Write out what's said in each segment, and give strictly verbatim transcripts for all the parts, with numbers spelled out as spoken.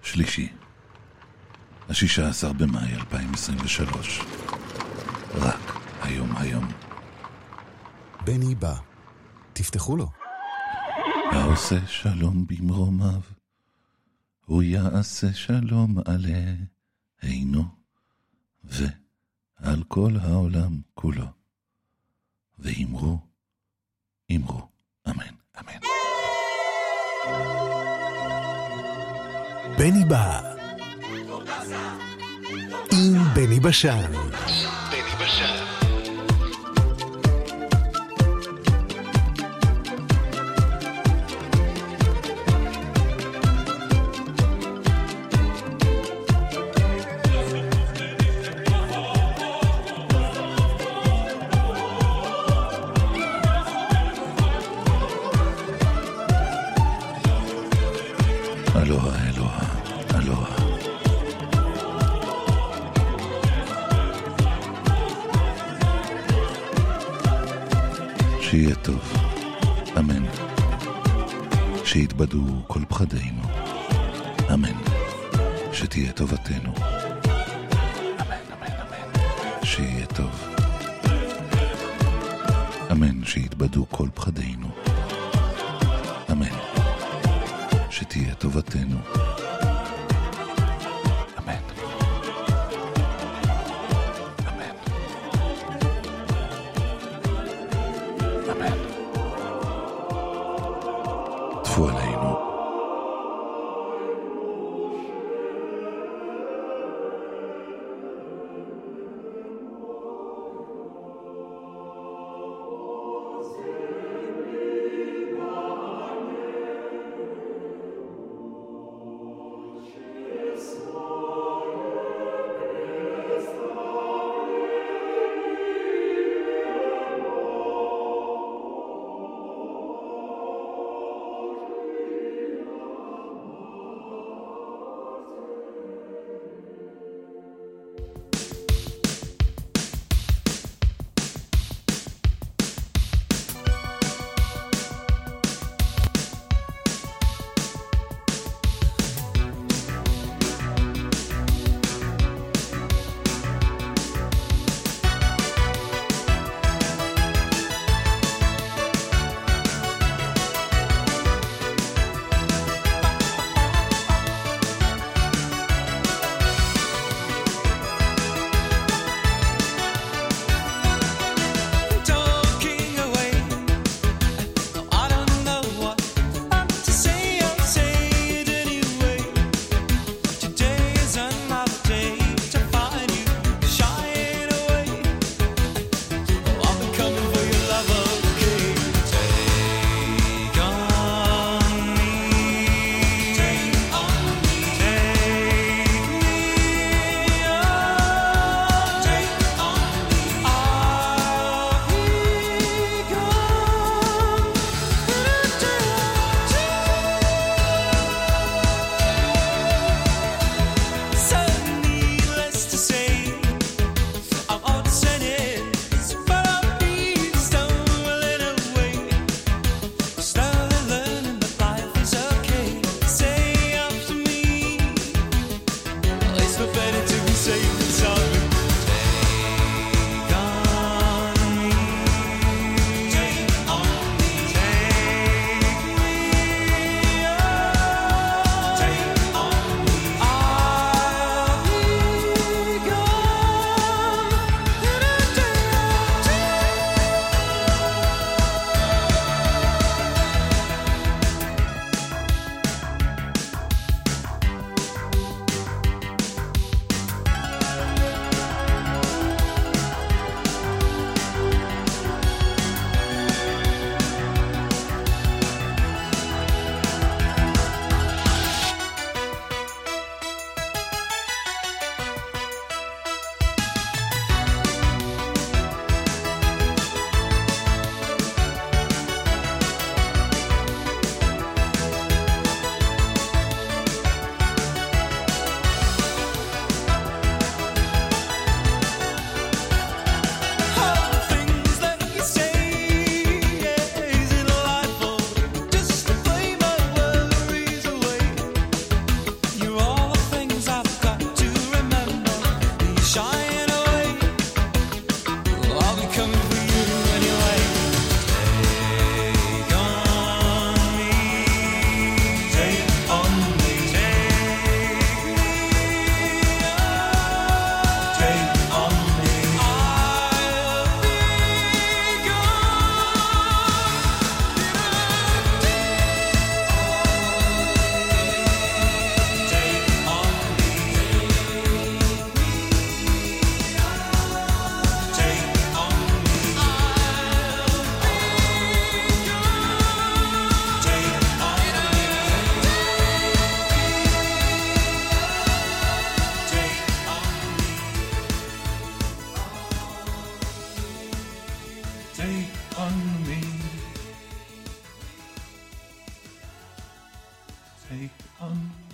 שלישי, השישה עשר במאי אלפיים עשרים ושלוש. רק היום היום. בני בא, תפתחו לו. העושה שלום במרומיו, הוא יעשה שלום עלינו ועל כל העולם כולו. ואמרו, אמרו, אמן, אמן. בני בא עם בני בשן. בני בשן. אלוהה, אלוהה, אלוהה. שיהיה טוב, אמן. שיתבדו כל פחדינו, אמן. שתהיה טובתנו, אמן, אמן, אמן. שיהיה טוב, אמן. שיתבדו כל פחדינו, אמן. שתהיה טובתנו, אמן, אמן, אמן. טפו עלינו.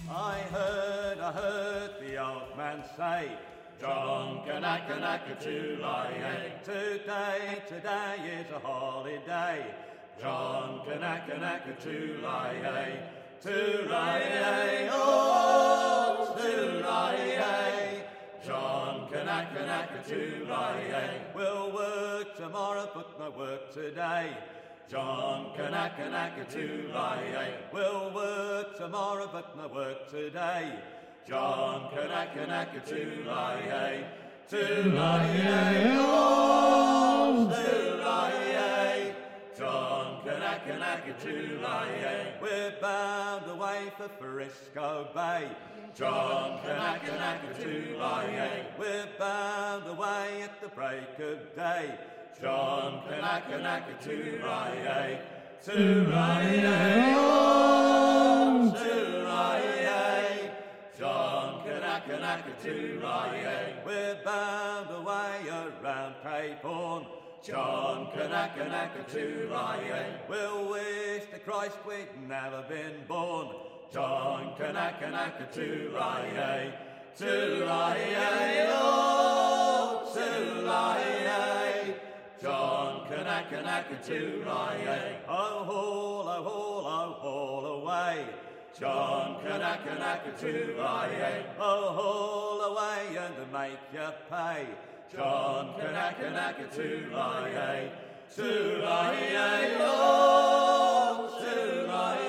I heard, I heard the old man say, John Kanaka-naka-tulay. Today, today is a holiday. John Kanaka-naka-tulay. Tulay, oh, tulay. John Kanaka-naka-tulay. We'll work tomorrow, but no work today. John Kanaka-naka-tulay. We'll work tomorrow, but no work today. John Kanaka-naka-tulay. Tulay, oh, tulay. John Kanaka-naka-tulay. We're bound away for Frisco Bay. John Kanaka-naka-tulay. We're bound away at the break of day. John Kanaka-naka-tulay. Tulay, oh, tulay. John Kanaka-naka-tulay. We're bound away around Cape Horn. John Kanaka-naka-tulay. We'll wish to Christ we'd never been born. John Kanaka-naka-tulay. Tulay, oh, tulay. John Kanaka-naka-tulay. Oh, haul, oh, haul, oh, haul away. John Kanaka-naka-tulay. Oh, haul away and make you pay. John Kanaka-naka-tulay. Tulay, oh, tulay.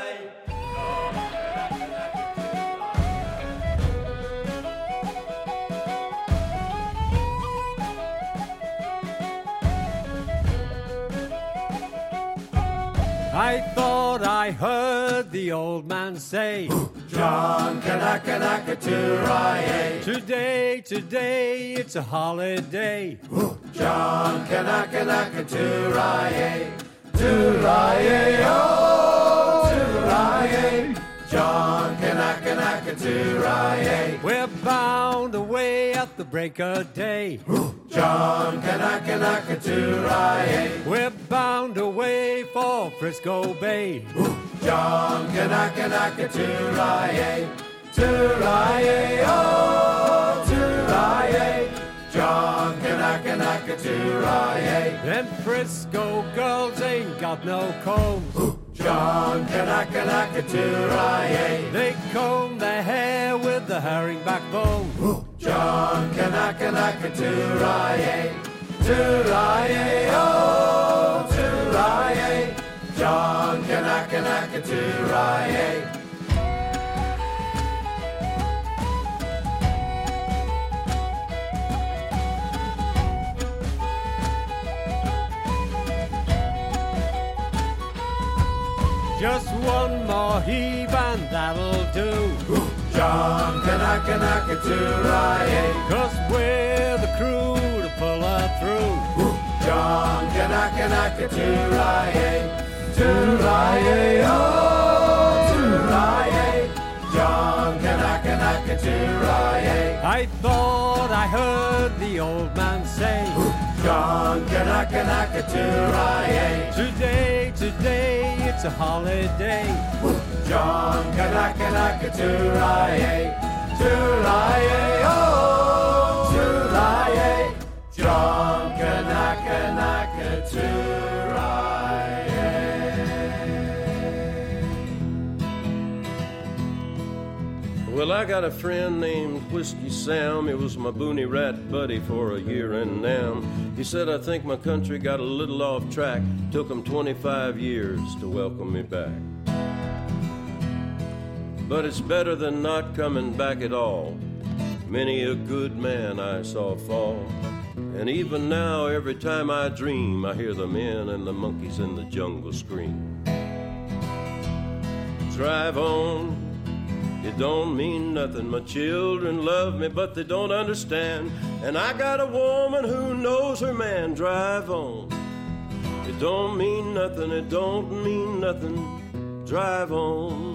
I thought I heard the old man say, John Kanaka-naka-tulay. Today, today, it's a holiday. John Kanaka-naka-tulay. Tulay, oh, tulay. John Kanaka-naka-tulay. We're bound away at the break of day. John Kanaka-naka-tulay. We're bound away for Frisco Bay. John Kanaka-naka-tulay. Tulay, oh, tulay. John Kanaka-naka-tulay. Them Frisco girls ain't got no combs. John Kanaka-naka-tulay. They comb their hair with the herring backbone. John Kanaka-naka-tulay. Tulay, oh, tulay. John Kanaka-naka-tulay. Just one more heave and that'll do. John Kanaka-naka-tulay. Cause we're the crew to pull her through. John Kanaka-naka-tulay. Tulay, oh, tulay. John Kanaka-naka-tulay. I thought I heard the old man say, John Kanaka-naka-tulay. Today, today, it's a holiday. John Kanaka-naka-tulay. Tulay, oh, tulay. John Kanaka-naka-tulay. Well, I got a friend named Whiskey Sam. He was my boonie rat buddy for a year and now. He said, I think my country got a little off track. Took him twenty-five years to welcome me back. But it's better than not coming back at all. Many a good man I saw fall. And even now, every time I dream, I hear the men and the monkeys in the jungle scream. Drive on. It don't mean nothing. My children love me, but they don't understand. And I got a woman who knows her man. Drive on. It don't mean nothing. It don't mean nothing. Drive on.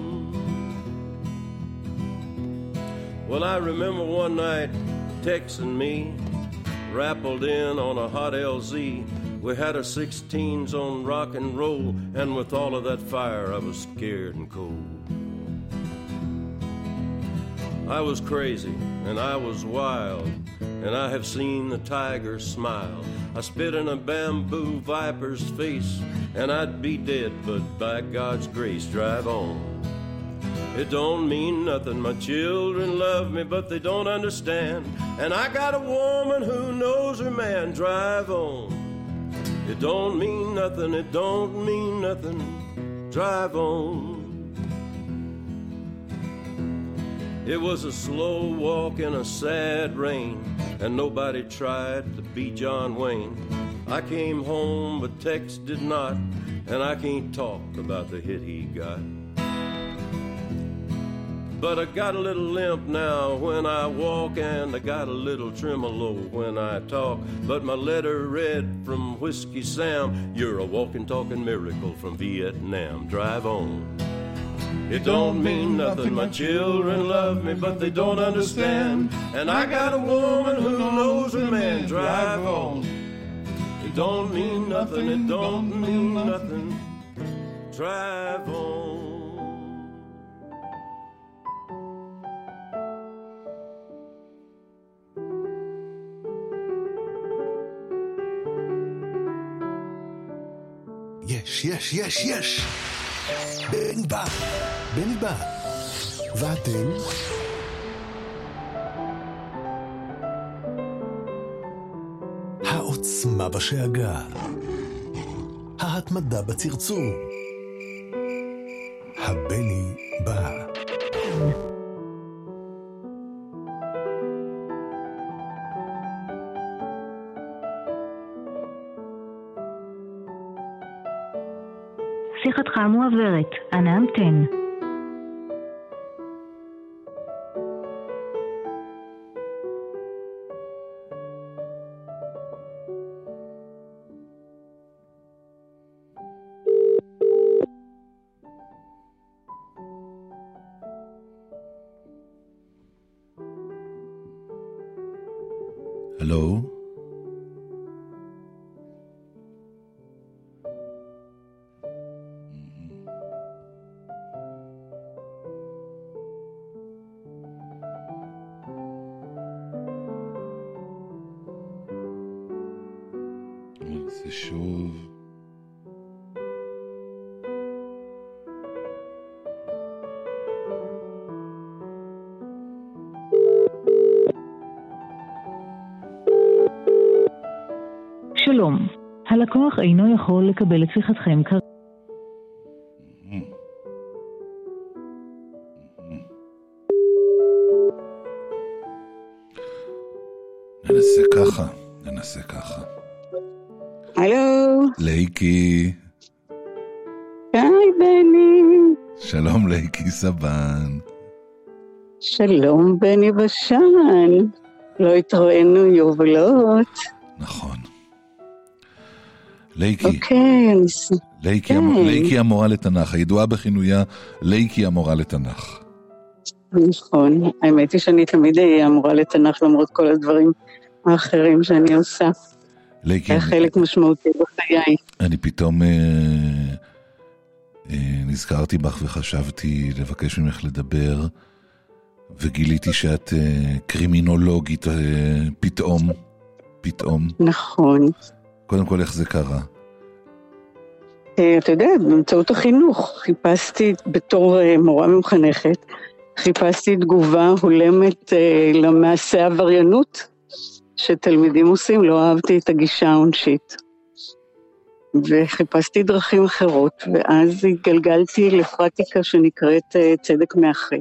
Well, I remember one night texting me, rappled in on a hot L Z. We had our sixteens on rock and roll, and with all of that fire, I was scared and cold. I was crazy and I was wild, and I have seen the tiger smile. I spit in a bamboo viper's face, and I'd be dead, but by God's grace, drive on. It don't mean nothing, my children love me, but they don't understand. And I got a woman who knows her man, drive on. It don't mean nothing, it don't mean nothing, drive on. It was a slow walk in a sad rain, and nobody tried to be John Wayne. I came home, but Tex did not, and I can't talk about the hit he got. But I got a little limp now when I walk, and I got a little tremolo when I talk. But my letter read from Whiskey Sam, you're a walking, talking miracle from Vietnam. Drive on. It don't mean nothing, my children love me, but they don't understand. And I got a woman who knows her man, drive on. It don't mean nothing, it don't mean nothing, drive on. יש, יש, יש, יש. בני בא, בני בא. ואתם? העוצמה בשאגה. ההתמדה בצרצור. הבני בא. שיחתך מועברת, אנא המתן. הלו? זה שוב. שלום, הלקוח אינו יכול לקבל את שיחתכם כרגע. ננסה ככה, ננסה ככה. הלו. לייקי. היי בני. שלום לייקי סבן. שלום בני בשן. לא התראינו יובלות. נכון. לייקי. אוקיי. לייקי, המ... לייקי המורה לתנ"ך, הידועה בכינויה לייקי המורה לתנ"ך. נכון. האמת היא שאני תמיד אהיה המורה לתנ"ך למרות כל הדברים האחרים שאני עושה. לייקי, זה חלק משמעותי בחיי. אני פתאום אה, אה, נזכרתי בך וחשבתי לבקש ממך לדבר, וגיליתי שאת אה, קרימינולוגית אה, פתאום, פתאום. נכון. קודם כל, איך זה קרה? אה, אתה יודע, באמצעות החינוך, חיפשתי בתור אה, מורה ממחנכת, חיפשתי תגובה הולמת אה, למעשה עבריינות, שתלמידים עושים, לא אהבתי את הגישה העונשית. וחיפשתי דרכים אחרות, ואז התגלגלתי לפרקטיקה שנקראת צדק מאחה,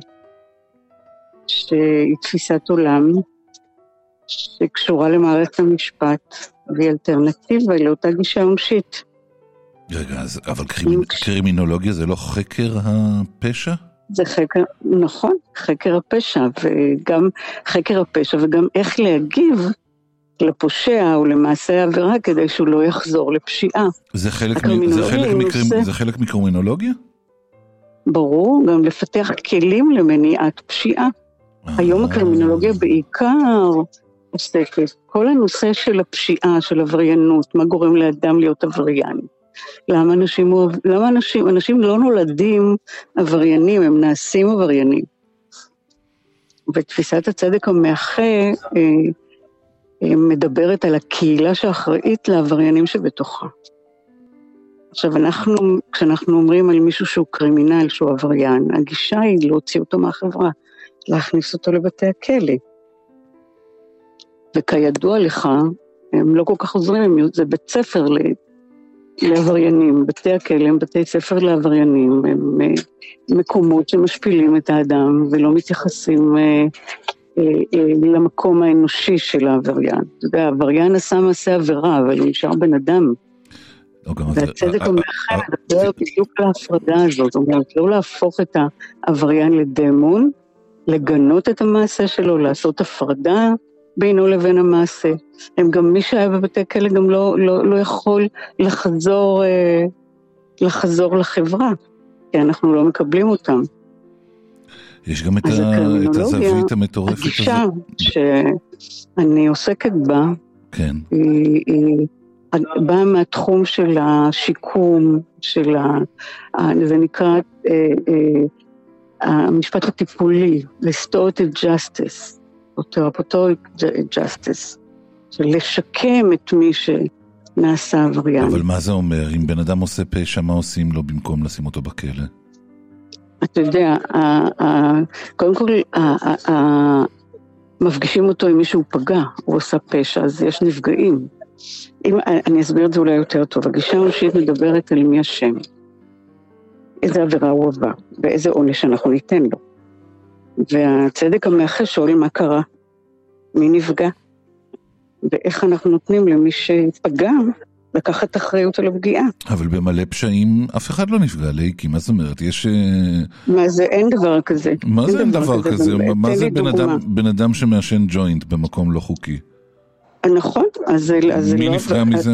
שהיא תפיסת עולם, שקשורה למערכת המשפט, והיא אלטרנטיבה לאותה גישה עונשית. רגע, אז, אבל קרימינ... קרימינולוגיה זה לא חקר הפשע? זה חקר, נכון, חקר הפשע, וגם חקר הפשע, וגם איך להגיב לפושע או למעשה העבירה כדי שהוא לא יחזור לפשיעה. זה חלק, מ... זה חלק, מקרימ... זה... זה חלק מקרימינולוגיה? ברור, גם לפתח כלים למניעת פשיעה. היום הקרימינולוגיה בעיקר עוסקת, כל הנושא של הפשיעה, של עבריינות, מה גורם לאדם להיות עבריין. למה אנשים, למה אנשים, אנשים לא נולדים עבריינים, הם נעשים עבריינים. ותפיסת הצדק המאחה מדברת על הקהילה שאחראית לעבריינים שבתוכה. עכשיו, אנחנו, כשאנחנו אומרים על מישהו שהוא קרימינל, שהוא עבריין, הגישה היא להוציא אותו מהחברה, להכניס אותו לבתי הכלא. וכידוע לך, הם לא כל כך עוזרים, זה בית ספר לעבריינים, בתי הכלא הם בתי ספר לעבריינים, הם מקומות שמשפילים את האדם ולא מתייחסים למקום האנושי של העבריין. אתה יודע, העבריין עשה מעשה עבירה, אבל הוא נשאר בן אדם. והצדק המאחה מדבר בדיוק להפרדה הזאת, זאת אומרת, לא להפוך את העבריין לדמון, לגנות את המעשה שלו, לעשות הפרדה בינו לבין המעשה. הם גם, מי שהיה בבתי כלא גם לא, לא, לא יכול לחזור, לחזור לחברה, כי אנחנו לא מקבלים אותם. יש גם את, ה... את הזווית המטורפת הזאת. הגישה שאני עוסקת בה, כן. היא, היא באה מהתחום של השיקום, של ה... זה נקרא אה, אה, המשפט הטיפולי, restorative justice, או therapeutic justice, של לשקם את מי שנעשה עבריין. אבל מה זה אומר? אם בן אדם עושה פשע, מה עושים לו במקום לשים אותו בכלא? אתה יודע, קודם כל, מפגישים אותו עם מישהו פגע, הוא עושה פשע, אז יש נפגעים. אני אסביר את זה אולי יותר טוב. הגישה האנושית מדברת על מי השם. איזה עבירה הוא עבר, ואיזה עונש אנחנו ניתן לו. והצדק המאחה שואל מה קרה, מי נפגע, ואיך אנחנו נותנים למי שפגע, לקחת אחריות על הפגיעה. אבל במלא פשעים אף אחד לא נפגע, לייקי, מה זאת אומרת? יש... מה זה? אין דבר כזה. מה זה אין דבר כזה? מה זה בן אדם שמאשן ג'וינט במקום לא חוקי? נכון, אז זה לא... מי נפגע מזה?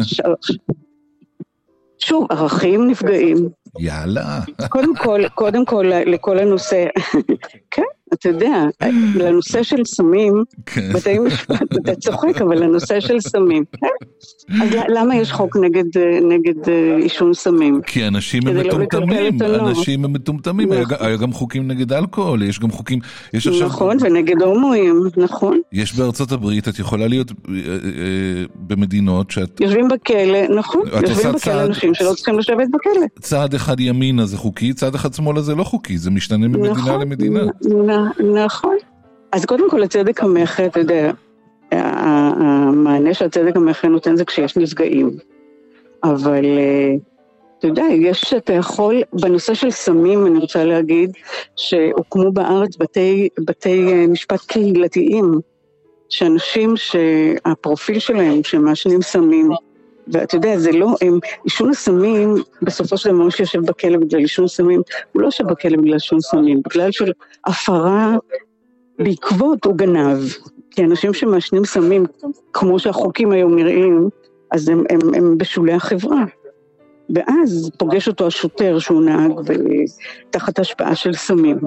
שוב, ערכים נפגעים. יאללה. קודם כל, קודם כל, לכל הנושא, כן, אתה יודע, לנושא של סמים, בתי משפט, אתה צוחק, אבל לנושא של סמים, אז למה יש חוק נגד עישון סמים? כי אנשים הם מטומטמים, אנשים הם מטומטמים, היה גם חוקים נגד אלכוהול, יש גם חוקים, נכון, ונגד הומואים, נכון. יש בארצות הברית, את יכולה להיות במדינות שאת... יושבים בכלא, נכון, יושבים בכלא אנשים שלא צריכים לשבת בכלא. צעד אחד ימינה זה חוקי, צעד אחד שמאלה זה לא חוקי, זה משתנה ממדינה למדינה. נכון. אז קודם כל הצדק המאחה, אתה יודע, המענה שהצדק המאחה נותן זה כשיש נפגעים. אבל אתה יודע, יש, אתה יכול, בנושא של סמים אני רוצה להגיד, שהוקמו בארץ בתי, בתי משפט קהילתיים, שאנשים שהפרופיל שלהם, שמאשנים סמים, ואתה יודע, זה לא, הם, עישון הסמים, בסופו של דבר שיושב בכלא בגלל עישון סמים, הוא לא יושב בכלא בגלל עישון סמים, בגלל של הפרה בעקבות הוא גנב, כי אנשים שמאשנים סמים, כמו שהחוקים היום נראים, אז הם, הם, הם בשולי החברה, ואז פוגש אותו השוטר שהוא נהג תחת השפעה של סמים.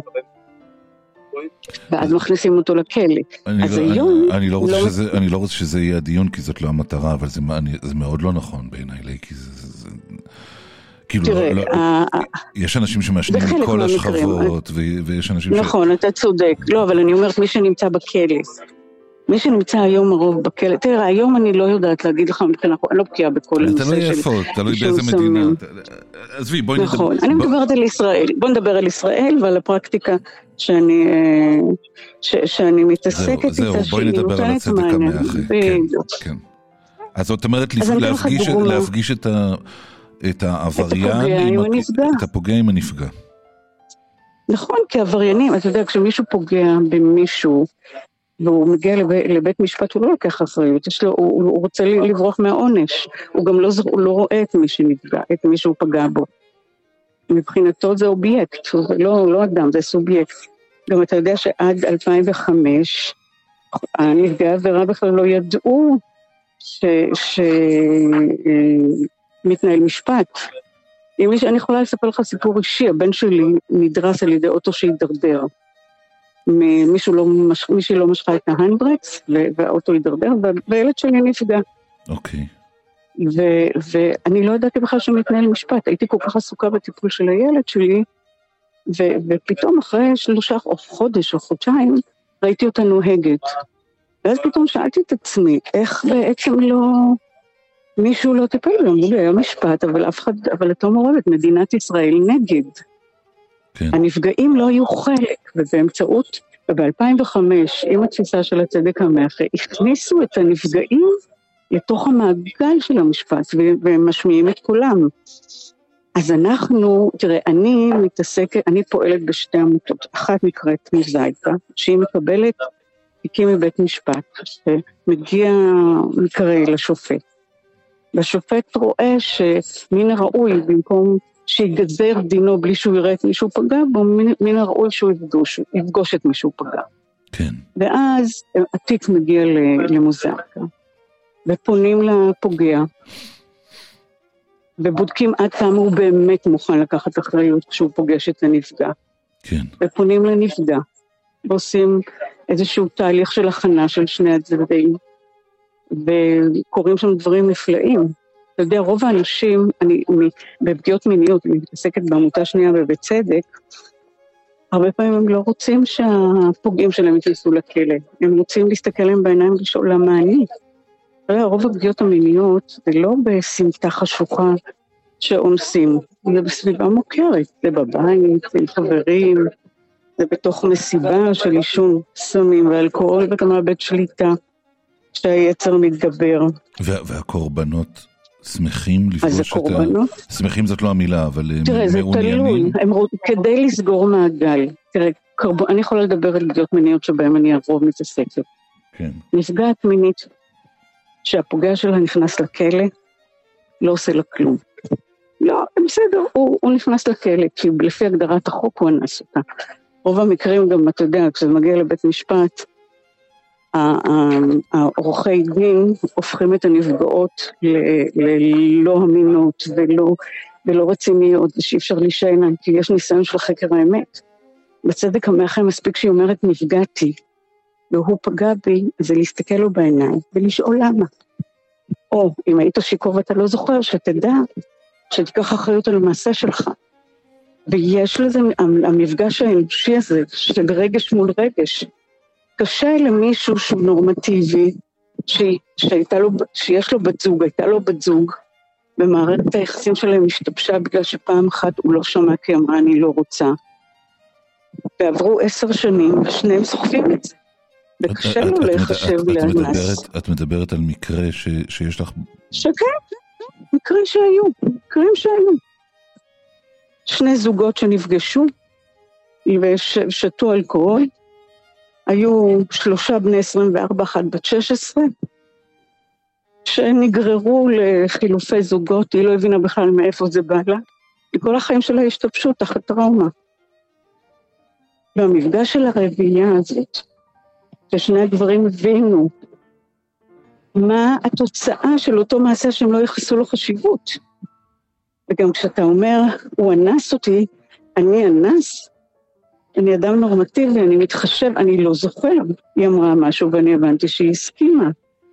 ואז מכניסים אותו לכלא. אז היום... אני לא רוצה שזה יהיה הדיון, כי זאת לא המטרה, אבל זה מאוד לא נכון בעיניי, כי זה... כאילו, יש אנשים שמאשנים מכל השכבות, ויש אנשים ש... נכון, אתה צודק. לא, אבל אני אומרת, מי שנמצא בכלא, מי שנמצא היום הרוב בכלא, תראה, היום אני לא יודעת להגיד לך, אני לא בקיאה בכל הנושא של... תלוי איפה, תלוי באיזה מדינה. עזבי, בואי נדבר... נכון, אני מדברת על ישראל. בוא נדבר על ישראל ועל הפרקטיקה שאני, שאני מתעסקת איתה. זהו, בואי נדבר על הצדק המאחה. כן, כן. אז זאת אומרת, להפגיש את העבריין, את הפוגע עם הנפגע. נכון, כי עבריינים, אתה יודע, כשמישהו פוגע במישהו, והוא מגיע לבית משפט, הוא לא לוקח אחריות, הוא, הוא רוצה לברוח מהעונש, הוא גם לא, הוא לא רואה את מי שנפגע, את מי שהוא פגע בו. מבחינתו זה אובייקט, זה לא, לא אדם, זה סובייקט. גם אתה יודע שעד אלפיים וחמש, הנפגעי העבירה בכלל לא ידעו שמתנהל משפט. אם אני יכולה לספר לך סיפור אישי, הבן שלי נדרס על ידי אוטו שהידרדר. מישהו לא, מישהו לא משכה את ההנדברקס, והאוטו הידרדר, והילד שלי נפגע. אוקיי. ואני לא ידעתי בכלל שמתנהל משפט, הייתי כל כך עסוקה בטיפול של הילד שלי, ופתאום אחרי שלושה או חודש או חודשיים, ראיתי אותה נוהגת. ואז פתאום שאלתי את עצמי, איך בעצם לא, מישהו לא טיפל בו, היה משפט, אבל אף אחד, אבל אתה מעורבת, מדינת ישראל נגד. כן. הנפגעים לא היו חלק, ובאמצעות, וב-אלפיים וחמש, עם התפיסה של הצדק המאחה, הכניסו את הנפגעים לתוך המעגל של המשפט, והם משמיעים את קולם. אז אנחנו, תראה, אני מתעסקת, אני פועלת בשתי עמותות, אחת נקראת מוזאיקה, שהיא מקבלת תיקים מבית משפט, שמגיע מקרה לשופט. והשופט רואה שמן הראוי, במקום שיגזר דינו בלי שהוא יראה את מישהו פגע בו, מן הראוי שהוא יפגוש, יפגוש את מישהו פגע. כן. ואז התיק מגיע למוזאיקה, ופונים לפוגע, ובודקים עד כמה הוא באמת מוכן לקחת אחריות כשהוא פוגש את הנפגע. כן. ופונים לנפגע, ועושים איזשהו תהליך של הכנה של שני הצדדים, וקוראים שם דברים נפלאים. אתה יודע, רוב האנשים, אני, בפגיעות מיניות, אני מתעסקת בעמותה שנייה ובצדק, הרבה פעמים הם לא רוצים שהפוגעים שלהם יתנסו לכלא, הם רוצים להסתכל להם בעיניים ולשאול למה אני. רוב הפגיעות המיניות זה לא בסמטה חשוכה שאונסים, זה בסביבה מוכרת, זה בבית, זה עם חברים, זה בתוך מסיבה של עישון סמים ואלכוהול, ואתה מאבד שליטה שהיצר מתגבר. וה- והקורבנות שמחים לפגוש את ה... שמחים זאת לא המילה, אבל תראה, זה תלוי, הם... כדי לסגור מעגל. תראה, קרב... אני יכולה לדבר על פגיעות מיניות שבהם אני ארוב מתעסקת. כן. נפגעת מינית שהפוגע שלה נכנס לכלא, לא עושה לה כלום. לא, בסדר, הוא, הוא נכנס לכלא, כי לפי הגדרת החוק הוא אנס אותה. רוב המקרים גם, אתה יודע, כשזה מגיע לבית משפט, העורכי דין הופכים את הנפגעות ללא אמינות ולא, ולא רציניות, ושאי אפשר להישען, כי יש ניסיון של חקר האמת. בצדק המאחה מספיק שהיא אומרת נפגעתי, והוא פגע בי, זה להסתכל לו בעיניים ולשאול למה. או אם היית שיקור ואתה לא זוכר, שתדע, שתיקח אחריות על המעשה שלך. ויש לזה, המפגש האנושי הזה, של רגש מול רגש, קשה למישהו שהוא נורמטיבי, שהייתה לו, שיש לו בת זוג, הייתה לו בת זוג, במערכת היחסים שלהם השתבשה בגלל שפעם אחת הוא לא שמע כי אמרה אני לא רוצה. ועברו עשר שנים ושניהם סוחבים את זה. וקשה לו להיחשב לאנס. את מדברת על מקרה ש, שיש לך... שכן, מקרים שהיו, מקרים שהיו. שני זוגות שנפגשו ושתו אלכוהול, היו שלושה בני עשרים וארבע, אחת בת שש עשרה, שנגררו לחילופי זוגות, היא לא הבינה בכלל מאיפה זה בא לה, וכל החיים שלה השתבשו תחת טראומה. והמפגש של הרביעייה הזאת, ששני הדברים הבינו, מה התוצאה של אותו מעשה שהם לא יחסו לו חשיבות. וגם כשאתה אומר, הוא אנס אותי, אני אנס, אני אדם נורמטיבי, אני מתחשב, אני לא זוכר. היא אמרה משהו ואני הבנתי שהיא הסכימה.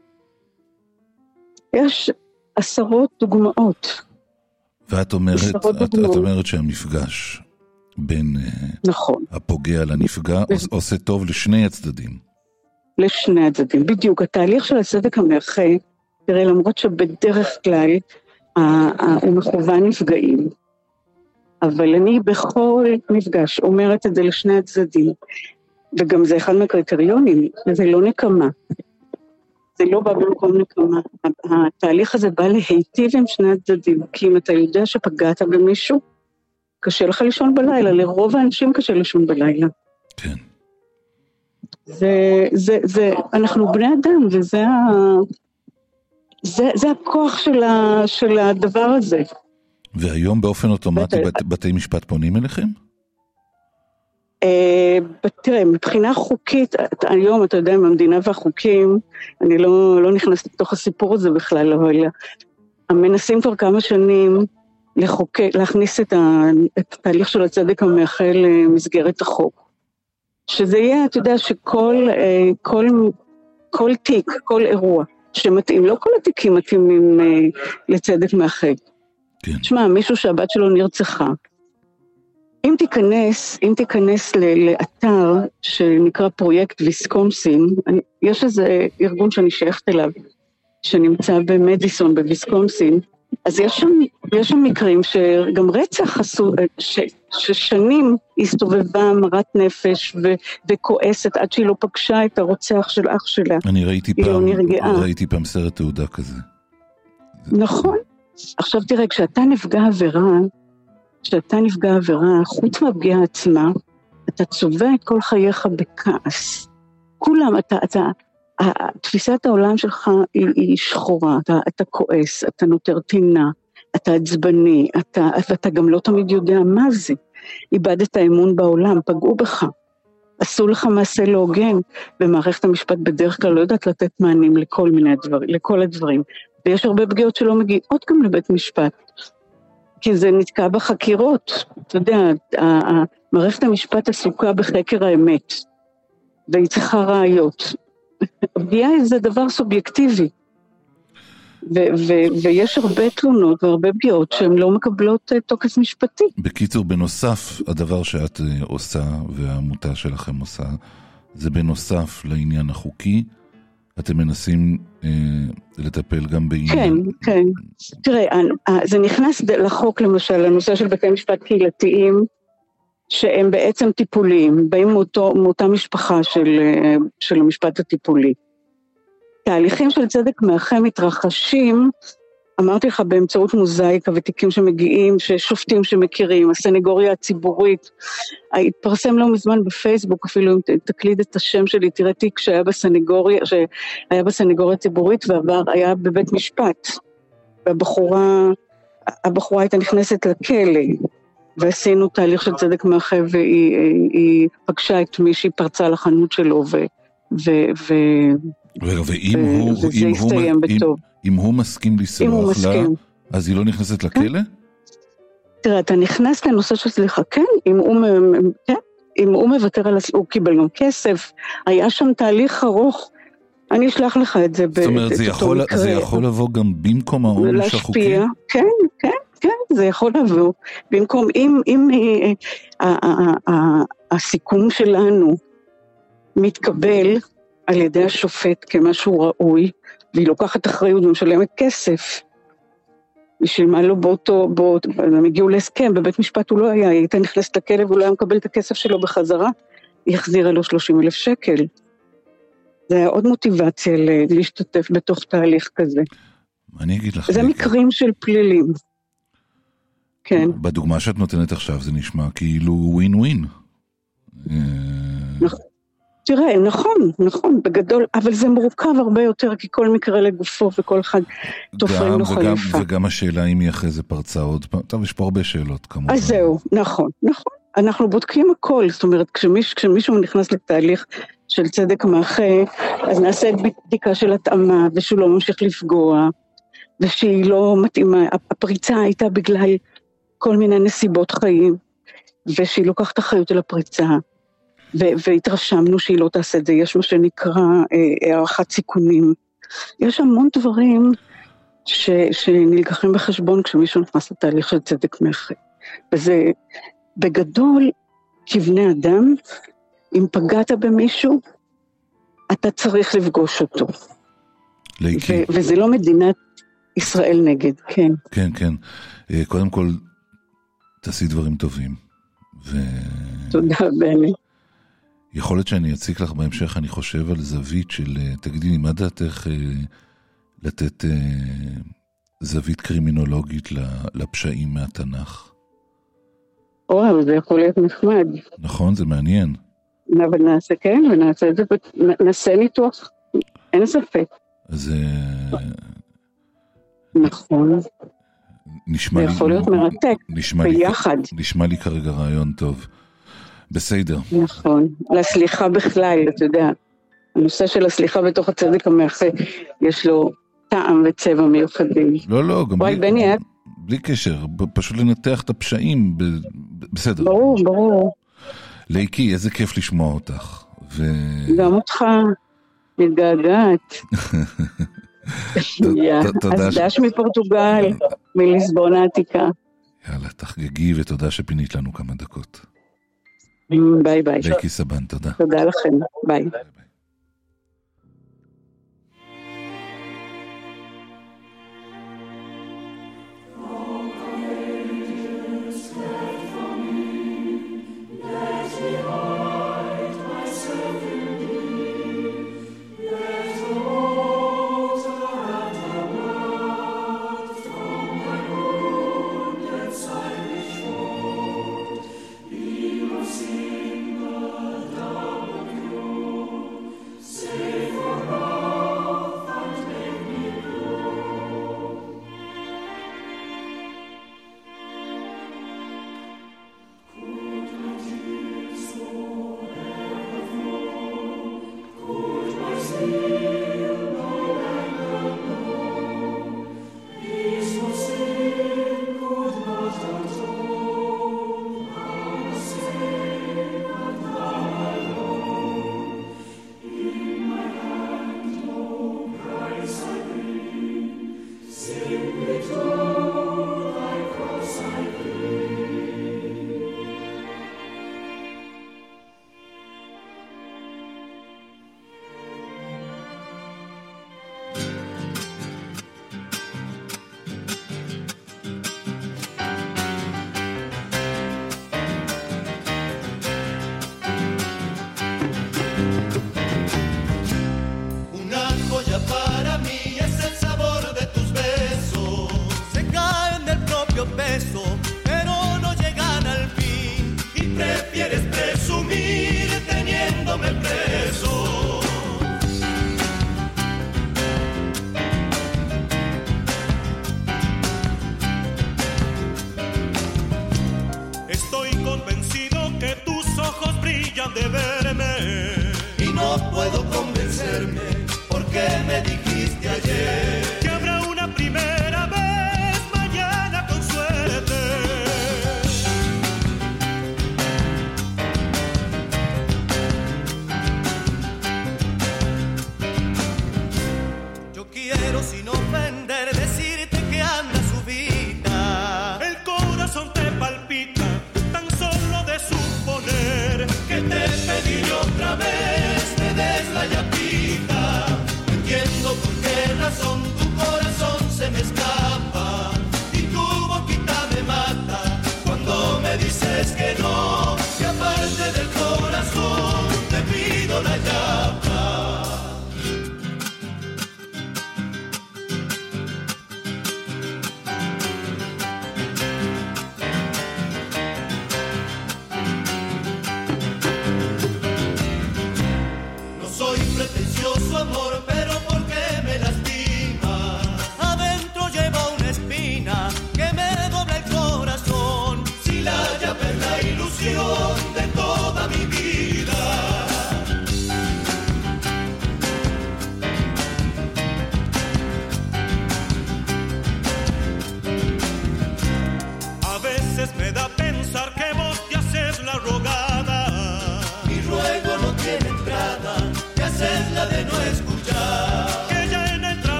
יש עשרות דוגמאות. ואת אומרת, את, את אומרת שהמפגש בין נכון. הפוגע לנפגע ו... עושה טוב לשני הצדדים. לשני הצדדים, בדיוק. התהליך של הצדק המאחה, תראה, למרות שבדרך כלל הוא מכוון נפגעים, אבל אני בכל מפגש אומרת את זה לשני הצדדים, וגם זה אחד מהקריטריונים, זה לא נקמה. זה לא בא במקום נקמה. התהליך הזה בא להיטיב עם שני הצדדים, כי אם אתה יודע שפגעת במישהו, קשה לך לישון בלילה, לרוב האנשים קשה לישון בלילה. כן. זה, זה, זה, אנחנו בני אדם, וזה ה, זה, זה הכוח של, ה, של הדבר הזה. והיום באופן אוטומטי בת, בתי משפט פונים אליכם? תראה, מבחינה חוקית, היום אתה יודע, עם המדינה והחוקים, אני לא, לא נכנסת לתוך הסיפור הזה בכלל, אבל המנסים כבר כמה שנים לחוקק, להכניס את התהליך של הצדק המאחה למסגרת החוק. שזה יהיה, אתה יודע, שכל כל, כל תיק, כל אירוע שמתאים, לא כל התיקים מתאימים לצדק מאחה. כן. תשמע, מישהו שהבת שלו נרצחה, אם תיכנס, אם תיכנס לאתר שנקרא פרויקט ויסקונסין, יש איזה ארגון שאני שייכת אליו, שנמצא במדיסון בוויסקונסין, אז יש שם, יש שם מקרים שגם רצח עשו, ש, ששנים הסתובבה מרת נפש ו, וכועסת עד שהיא לא פגשה את הרוצח של אח שלה. אני ראיתי פעם, לא ראיתי פעם סרט תעודה כזה. נכון. עכשיו תראה, כשאתה נפגע עבירה, כשאתה נפגע עבירה, חוץ מהפגיעה עצמה, אתה צובע את כל חייך בכעס. כולם, אתה, אתה, תפיסת העולם שלך היא, היא שחורה, אתה, אתה כועס, אתה נותר טינה, אתה עצבני, אתה, ואתה גם לא תמיד יודע מה זה. איבדת האמון בעולם, פגעו בך, עשו לך מעשה לא הוגן, במערכת המשפט בדרך כלל לא יודעת לתת מענים לכל מיני דברים, לכל הדברים. ויש הרבה פגיעות שלא מגיעות גם לבית משפט, כי זה נתקע בחקירות. אתה יודע, מערכת המשפט עסוקה בחקר האמת, והיא צריכה ראיות. הפגיעה זה דבר סובייקטיבי, ו- ו- ויש הרבה תלונות והרבה פגיעות שהן לא מקבלות תוקף משפטי. בקיצור, בנוסף, הדבר שאת עושה והעמותה שלכם עושה, זה בנוסף לעניין החוקי, אתם מנסים אה, לטפל גם בעניין. כן, כן. תראה, זה נכנס לחוק למשל, הנושא של בתי משפט קהילתיים, שהם בעצם טיפוליים, באים מאותו, מאותה משפחה של, של המשפט הטיפולי. תהליכים של צדק מאחה מתרחשים, אמרתי לך, באמצעות מוזאיקה ותיקים שמגיעים, ששופטים שמכירים, הסנגוריה הציבורית, התפרסם לא מזמן בפייסבוק, אפילו אם תקליד את השם שלי, תראה תיק שהיה בסנגוריה, שהיה בסנגוריה הציבורית, ועבר, היה בבית משפט, והבחורה, הבחורה הייתה נכנסת לכלא, ועשינו תהליך של צדק מאחה, והיא היא פגשה את מי שהיא פרצה לחנות שלו, ו... ו, ו רגע, ואם הוא, אם הוא, אם, אם הוא מסכים לסלוח לה, אז היא לא נכנסת לכלא? תראה, אתה נכנס לנושא של סליחה, כן, אם הוא, כן, אם הוא מוותר על, הוא קיבל גם כסף, היה שם תהליך ארוך, אני אשלח לך את זה. זאת אומרת, זה יכול, זה יכול לבוא גם במקום העונש החוקי? כן, כן, כן, זה יכול לבוא. במקום, אם, אם הסיכום שלנו מתקבל על ידי השופט כמשהו ראוי, והיא לוקחת אחריות ומשלמת כסף, בשביל מה לא באותו, באותו, הם הגיעו להסכם, בבית משפט הוא לא היה, היא הייתה נכנסת לכלא והוא לא היה מקבל את הכסף שלו בחזרה, היא החזירה לו שלושים אלף שקל. זה היה עוד מוטיבציה להשתתף בתוך תהליך כזה. אני אגיד לך... זה מקרים של פלילים. כן. בדוגמה שאת נותנת עכשיו זה נשמע כאילו ווין ווין. נכון. תראה, נכון, נכון, בגדול, אבל זה מורכב הרבה יותר, כי כל מקרה לגופו וכל אחד תופרים לו חליפה. וגם השאלה אם היא אחרי זה פרצה עוד פעם, טוב, יש פה הרבה שאלות כמובן. אז זהו, נכון, נכון. אנחנו בודקים הכל, זאת אומרת, כשמיש, כשמישהו נכנס לתהליך של צדק מאחה, אז נעשה בדיקה של התאמה, ושהוא לא ממשיך לפגוע, ושהיא לא מתאימה, הפריצה הייתה בגלל כל מיני נסיבות חיים, ושהיא לוקחת אחריות על הפריצה, והתרשמנו שהיא לא תעשה את זה, יש מה שנקרא אה, הערכת סיכונים. יש המון דברים ש, שנלקחים בחשבון כשמישהו נכנס לתהליך של צדק מאחה. וזה בגדול, כבני אדם, אם פגעת במישהו, אתה צריך לפגוש אותו. לאיקי. ו- וזה לא מדינת ישראל נגד, כן. כן, כן. קודם כל, תעשי דברים טובים. ו... תודה, בני. יכול להיות שאני אציק לך בהמשך, אני חושב על זווית של, תגידי לי, מה דעתך לתת זווית קרימינולוגית לפשעים מהתנ"ך? וואו, זה יכול להיות נחמד. נכון, זה מעניין. אבל נעשה כן, ונעשה את זה, נעשה ניתוח, אין ספק. אז... נכון. נשמע זה יכול להיות מרתק, ביחד. נשמע לי כרגע רעיון טוב. בסדר. נכון. לסליחה בכלל, אתה יודע, הנושא של הסליחה בתוך הצדק המאחה, יש לו טעם וצבע מיוחדים. לא, לא, גם וואי, בלי, בני, בלי קשר, פשוט לנתח את הפשעים, ב, בסדר. ברור, ברור. לאיקי, איזה כיף לשמוע אותך. ו... גם אותך, מתגעגעת. אז דש מפורטוגל, מליסבון העתיקה. יאללה, תחגגי ותודה שפינית לנו כמה דקות. ביי ביי. בקי סבן, תודה. תודה לכם, ביי. ביי, ביי.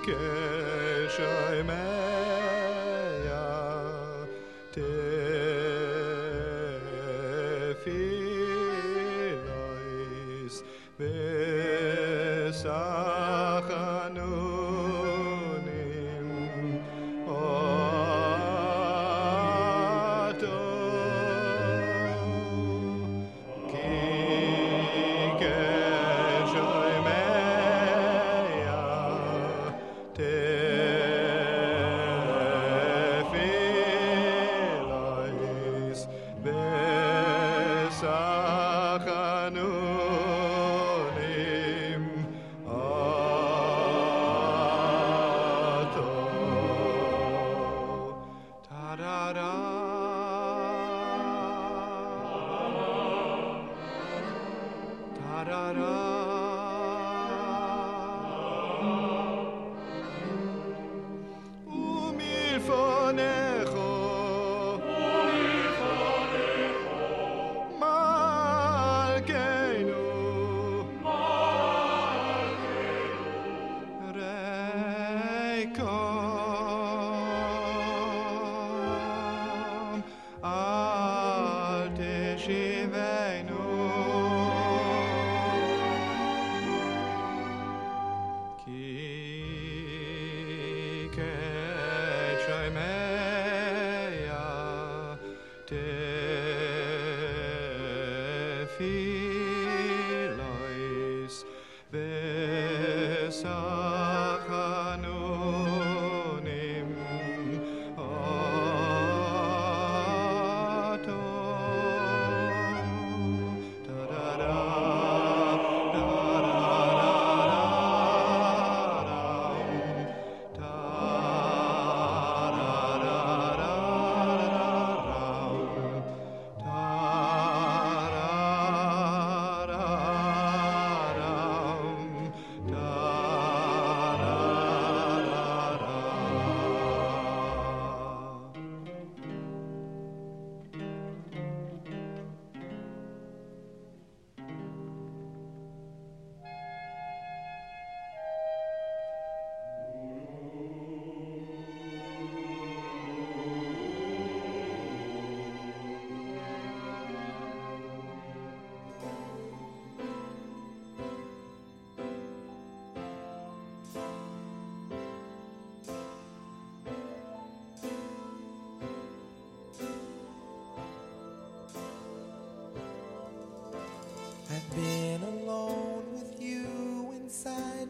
I've been alone with you inside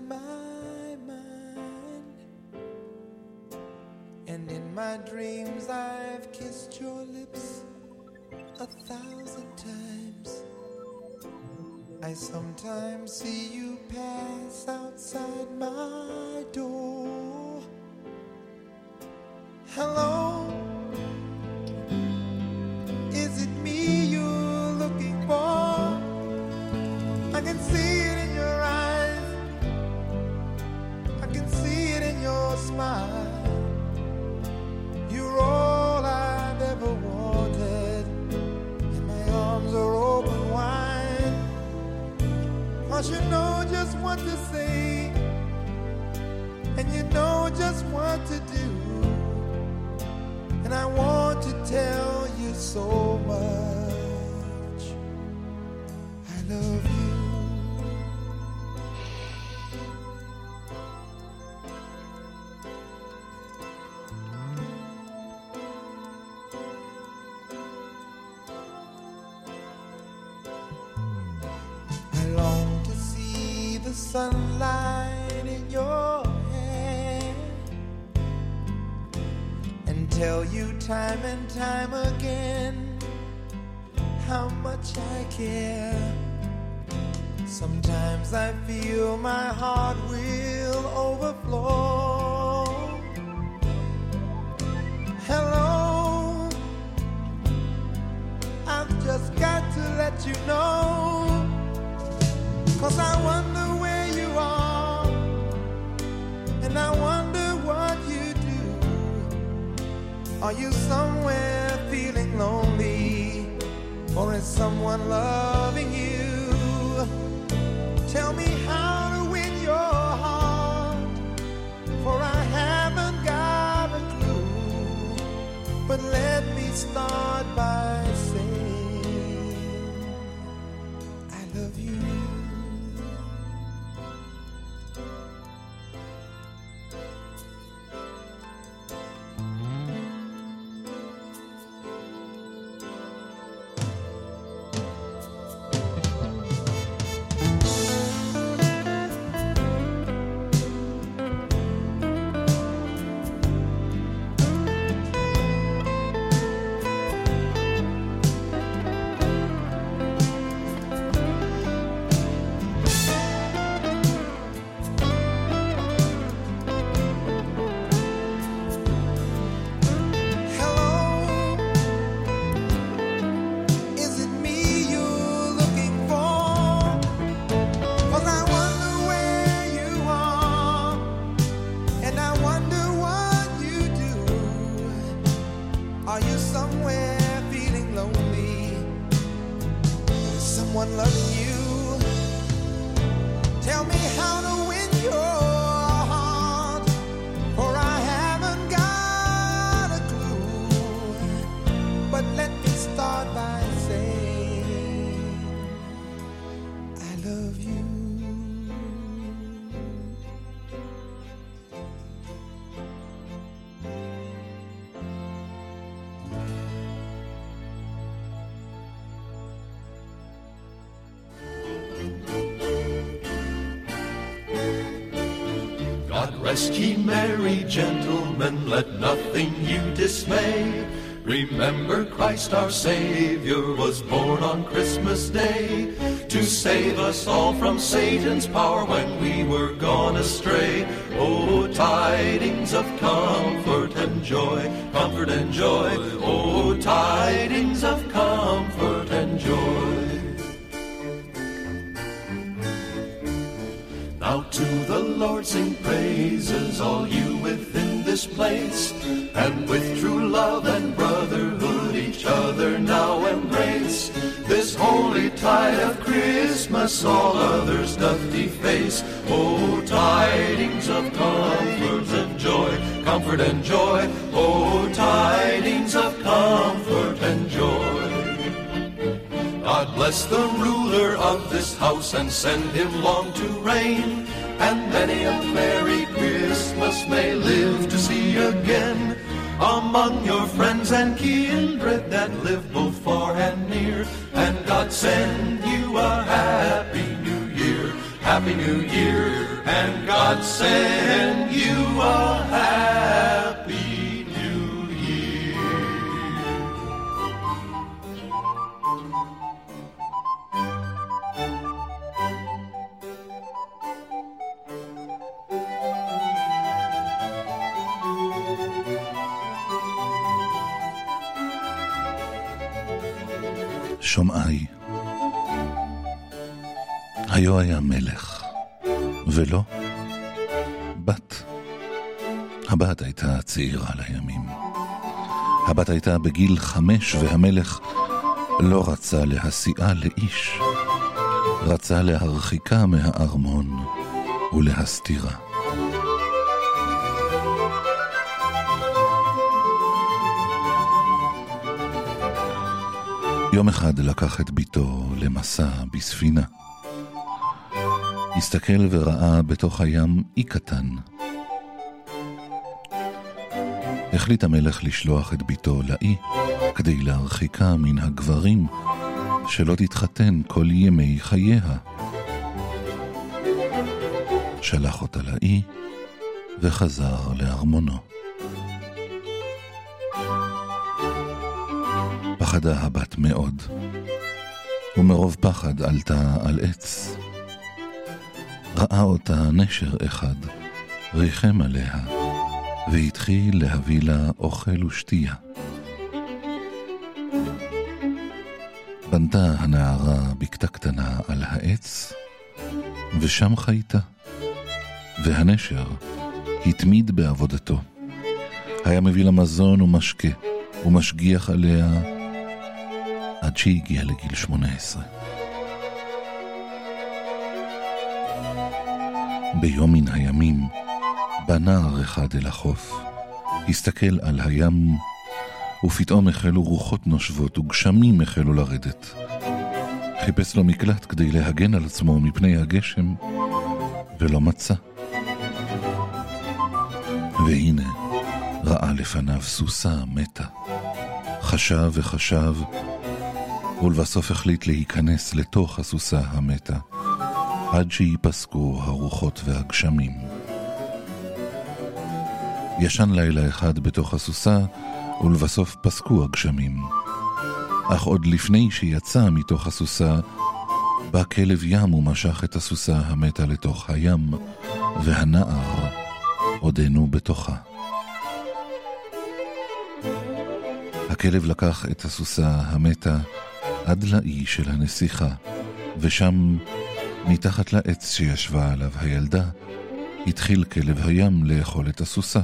my mind, and in my dreams I've kissed your lips a thousand times. I sometimes see you pass outside my door. Hello, is it me you're looking for? I can see it in your eyes, I can see it in your smile. You're all I've ever wanted, and my arms are open wide. 'Cause you know just what to say, and you know just what to do, and I want to tell you so much I love you. I long to see the sunlight in your hair and tell you time and time again how much I care. Sometimes I feel my heart will overflow. Hello, I've just got to let you know, 'cause I wonder where you are, and I wonder what you do. Are you somewhere feeling lonely, or is someone loving you? Tell me how to win your heart, for start by saying I love you. Rest ye merry gentlemen, let nothing you dismay. Remember Christ our Savior was born on Christmas Day to save us all from Satan's power when we were gone astray. Oh, tidings of comfort and joy, comfort and joy. Oh, tidings of comfort and joy. Now to the Lord sing praises, all you within this place, and with true love and brotherhood each other now embrace. This holy tide of Christmas all others doth deface. Oh, tidings of comfort and joy, comfort and joy. Oh, tidings of comfort and joy. God bless the ruler of this house and send him long to reign, and many a Merry Christmas may live to see again. Among your friends and kindred that live both far and near, and God send you a happy new year, happy new year, and God send you a happy new year. שומעי, היו היה מלך, ולא בת. הבת הייתה צעירה לימים. הבת הייתה בגיל חמש, והמלך לא רצה להסיעה לאיש. רצה להרחיקה מהארמון ולהסתירה. יום אחד לקח את ביתו למסע בספינה. הסתכל וראה בתוך הים אי קטן. החליט המלך לשלוח את ביתו לאי כדי להרחיקה מן הגברים שלא תתחתן כל ימי חייה. שלח אותה לאי וחזר לארמונו. פחדה הבת מאוד, ומרוב פחד עלתה על עץ. ראה אותה נשר אחד, ריחם עליה, והתחיל להביא לה אוכל ושתייה. בנתה הנערה בקתה קטנה על העץ, ושם חייתה, והנשר התמיד בעבודתו. היה מביא לה מזון ומשקה, ומשגיח עליה עד שהגיע לגיל שמונה עשרה. ביום מן הימים בא נער אחד אל החוף, הסתכל על הים ופתאום החלו רוחות נושבות וגשמים החלו לרדת. חיפש לו מקלט כדי להגן על עצמו מפני הגשם, ולא מצא. והנה ראה לפניו סוסה מתה. חשב וחשב, ולבסוף החליט להיכנס לתוך הסוסה המתה, עד שיפסקו הרוחות והגשמים. ישן לילה אחד בתוך הסוסה, ולבסוף פסקו הגשמים. אך עוד לפני שיצא מתוך הסוסה, בא כלב ים ומשך את הסוסה המתה לתוך הים, והנער עודנו בתוכה. הכלב לקח את הסוסה המתה עד לאי של הנסיכה, ושם, מתחת לעץ שישבה עליו הילדה, התחיל כלב הים לאכול את הסוסה.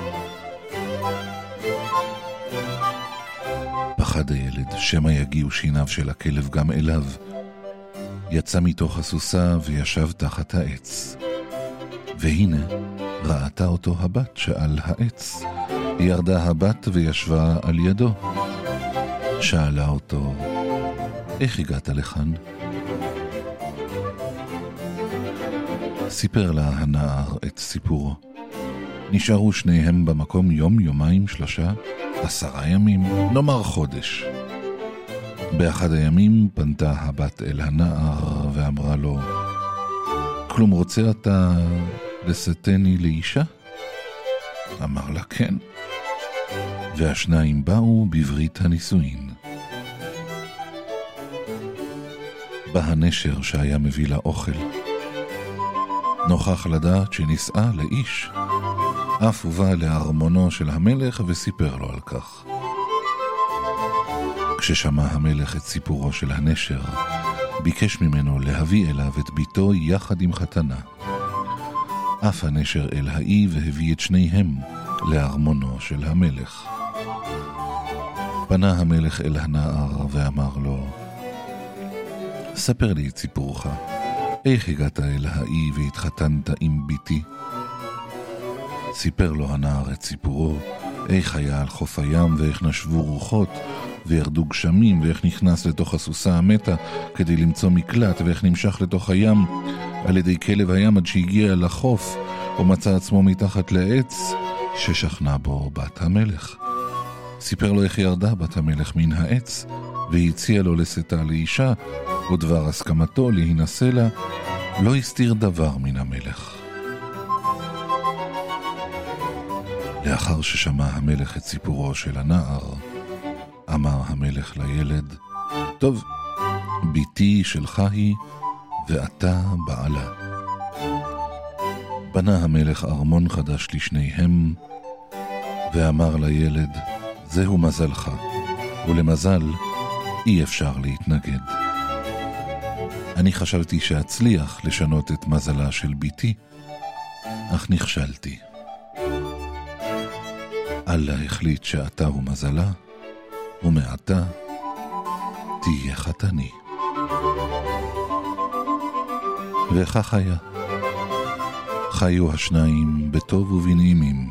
פחד הילד שמא יגיעו שיניו של הכלב גם אליו. יצא מתוך הסוסה וישב תחת העץ. והנה ראתה אותו הבת שעל העץ. ירדה הבת וישבה על ידו. שאלה אותו, איך הגעת לכאן? סיפר לה הנער את סיפורו. נשארו שניהם במקום יום, יומיים, שלושה, עשרה ימים, נאמר חודש. באחד הימים פנתה הבת אל הנער ואמרה לו, כלום רוצה אתה לשאתני לאישה? אמר לה כן. והשניים באו בברית הנישואין. בא הנשר שהיה מביא לה אוכל. נוכח לדעת שנישאה לאיש, אף ובא לארמונו של המלך וסיפר לו על כך. כששמע המלך את סיפורו של הנשר, ביקש ממנו להביא אליו את ביתו יחד עם חתנה. אף הנשר אל האי והביא את שניהם לארמונו של המלך. פנה המלך אל הנער ואמר לו, ספר לי את סיפורך. איך הגעת אל האי והתחתנת עם ביתי? סיפר לו הנער את סיפורו, איך היה על חוף הים ואיך נשבו רוחות וירדו גשמים ואיך נכנס לתוך הסוסה המתה כדי למצוא מקלט ואיך נמשך לתוך הים על ידי כלב הים עד שהגיע לחוף ומצא עצמו מתחת לעץ ששכנה בו בת המלך. סיפר לו איך ירדה בת המלך מן העץ והציע לו לשאתה לאישה, ודבר הסכמתו להינשא לה לא הסתיר דבר מן המלך. לאחר ששמע המלך את סיפורו של הנער, אמר המלך לילד, טוב, ביתי שלך היא ואתה בעלה. בנה המלך ארמון חדש לשניהם ואמר לילד, זהו מזלך, ולמזל אי אפשר להתנגד. אני חשבתי שאצליח לשנות את מזלה של ביתי, אך נכשלתי. אללה החליט שאתה הוא מזלה, ומעתה תהיה חתני. וכך היה. חיו השניים בטוב ובנעימים.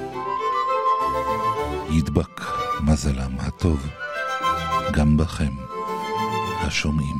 ידבק מזלם הטוב גם בכם השומעים.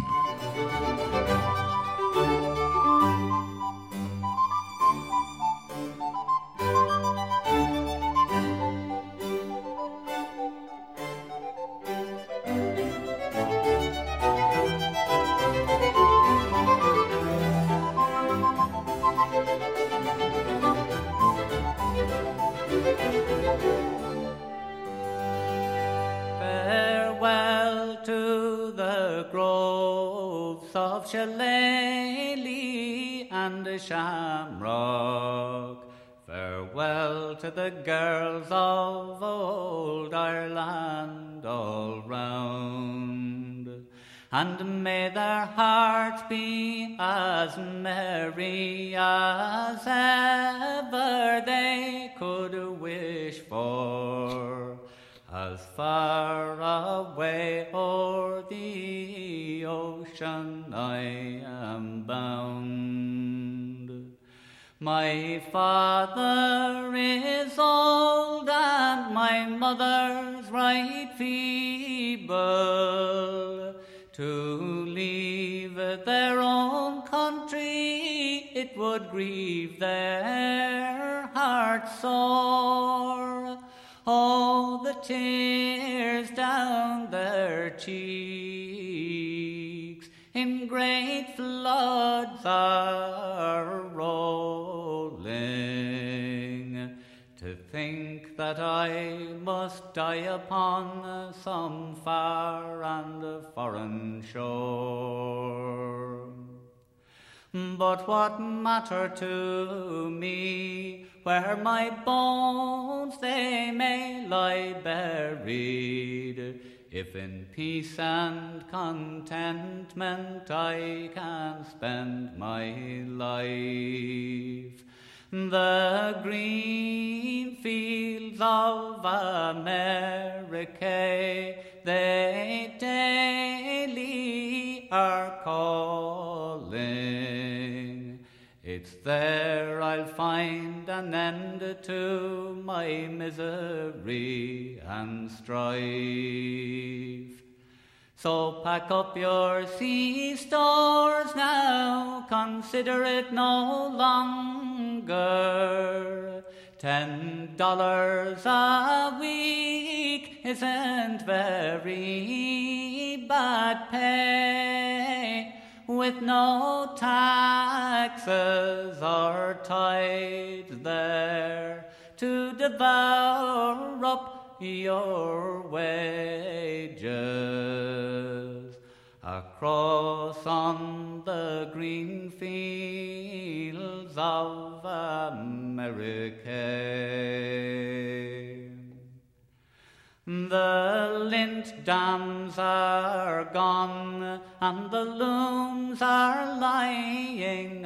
Shillelagh and the Shamrock. Farewell to the girls of old Ireland all round, and may their hearts be as merry as ever they could wish for, as far away o'er the ocean I am bound. My father is old and my mother's right feeble. To leave their own country, it would grieve their hearts sore. Oh, the tears down their cheeks in great floods are rolling. To think that I must die upon some far and foreign shore. But what matter to me where my bones they may lie buried, if in peace and contentment I can spend my life. The green fields of America, they daily are calling. It's there I'll find an end to my misery and strife. So pack up your sea stores now, consider it no longer. Ten dollars a week isn't very bad pay, with no taxes or tithes there to devour up your wages. Across on the green fields of America, the lint dams are gone and the looms are lying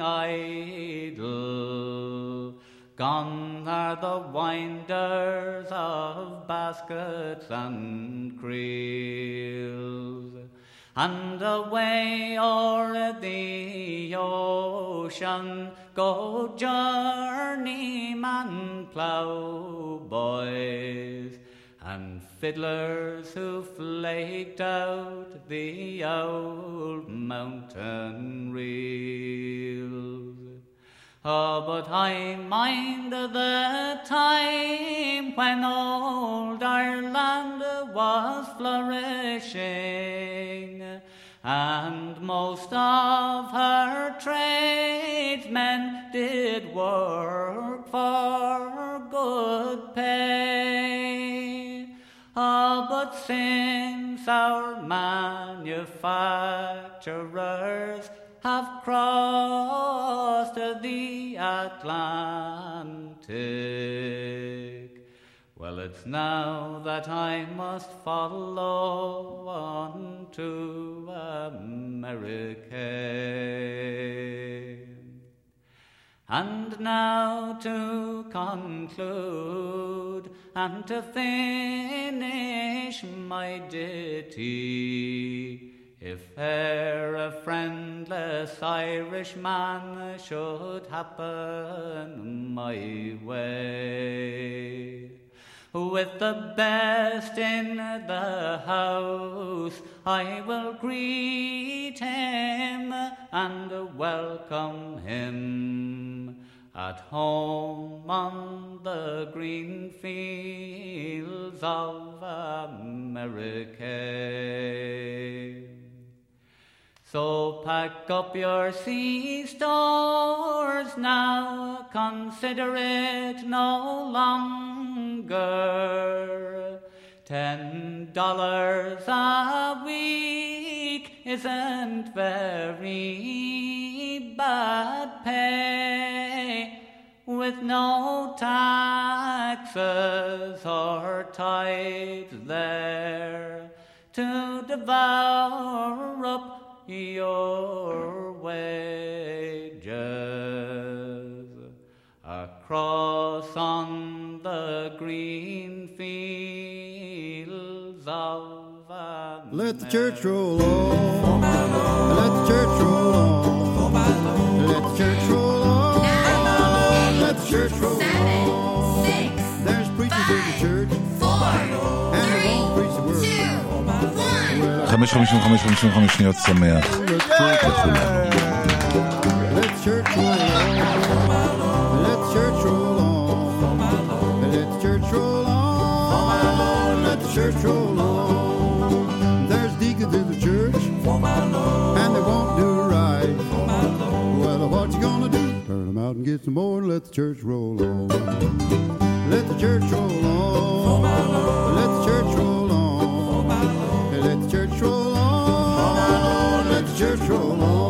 idle. Gone are the winders of baskets and creels, and away o'er the ocean go journeyman ploughboys and fiddlers who flaked out the old mountain reels. Oh, but I mind the time when old Ireland was flourishing, and most of her tradesmen did work for good pay. Oh, but since our manufacturers have crossed the Atlantic, well, it's now that I must follow on to America. And now to conclude and to finish my ditty, if e'er a friendless Irishman should happen my way, with the best in the house I will greet him and welcome him at home on the green fields of America. So pack up your sea stores now, consider it no longer. Ten dollars a week isn't very bad pay, with no taxes or tithes there to devour up your wages. Across on the green fields of America. Let the church roll on. Let the church roll on. Let the church roll on. וחמש, חמישים וחמש, חמישים וחמש שניות שמח לכולנו. Let church roll on. Let church roll on. Let church roll on. Let church roll on. There's deacons in the church, and they won't do right. Well, what you gonna do? Turn them out and get some more and let the church roll on. Let the church roll on. Let the church roll on. Let the church roll on. Let the church roll on.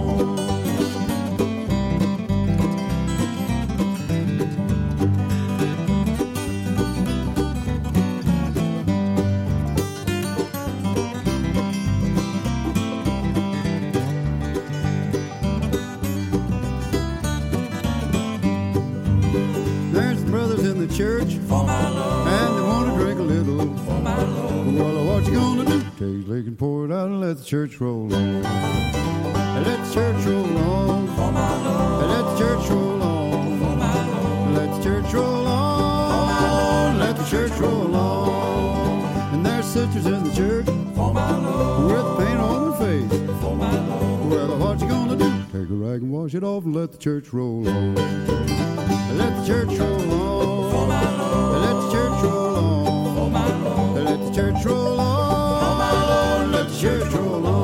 Church for my Lord, and they want to drink a little for my Lord. Well, what you gonna do? Take his leg and pour it out and let the church roll on. Let the church roll on for my Lord. Let the church roll on for my Lord. Let the church roll on for my Lord. Let the church roll on. And there's sisters in the church for my Lord with paint on their face for my Lord. Well, what you gonna do? Take a rag and wash it off and let the church roll on. Let the church roll on. Let the church roll on. Let the church roll on. Let the church roll on.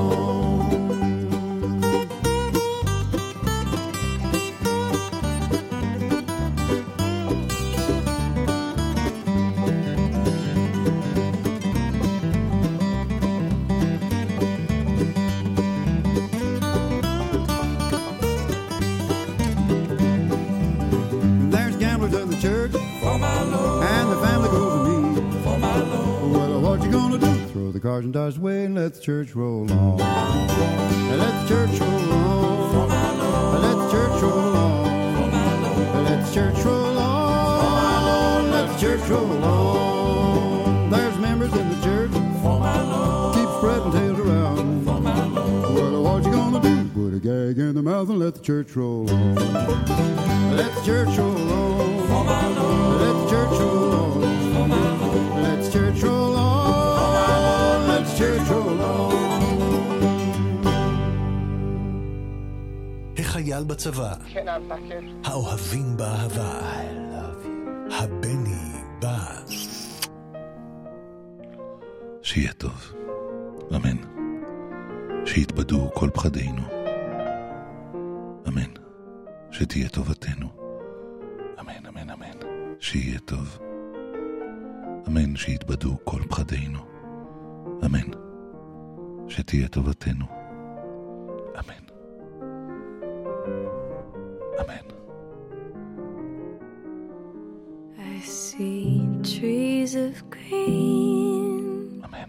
There's gamblers in the church, and the family goes to meet. For my Lord. Well, what you gonna do? Throw the cards and dice away and let the church roll on. Let the church roll on. For my Lord. Let the church roll on. For my Lord. Let the church roll on. For my Lord. Let the church roll on. There's members in the church. For my Lord. Keep spreading tails around. For my Lord. Well, what you gonna do? Put a gag in the mouth and let the church roll on. Let the church roll on. For my Lord. Let the church roll on. For my Lord. Let the church roll on. For my Lord. Let the church roll on. החייל בצבא. האוהבים באהבה. הבני בא. שיהיה טוב. אמן. שיתבדו כל פחדינו. אמן. שתהיה טובתנו. אמן, אמן, אמן. שיהיה טוב. אמן, שיתבדו כל פחדינו. אמן. שתהיה טובתנו. אמן. אמן. I see trees of green. אמן.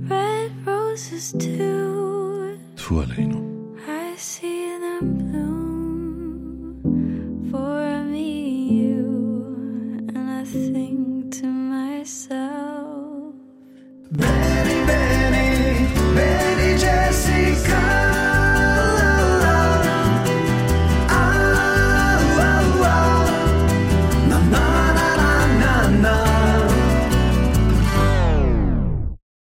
Red roses too. טפו עלינו. I see them bloom.